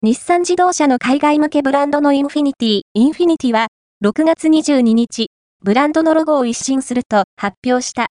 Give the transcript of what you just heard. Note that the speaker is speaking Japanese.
日産自動車の海外向けブランドのインフィニティは、6月22日、ブランドのロゴを一新すると発表した。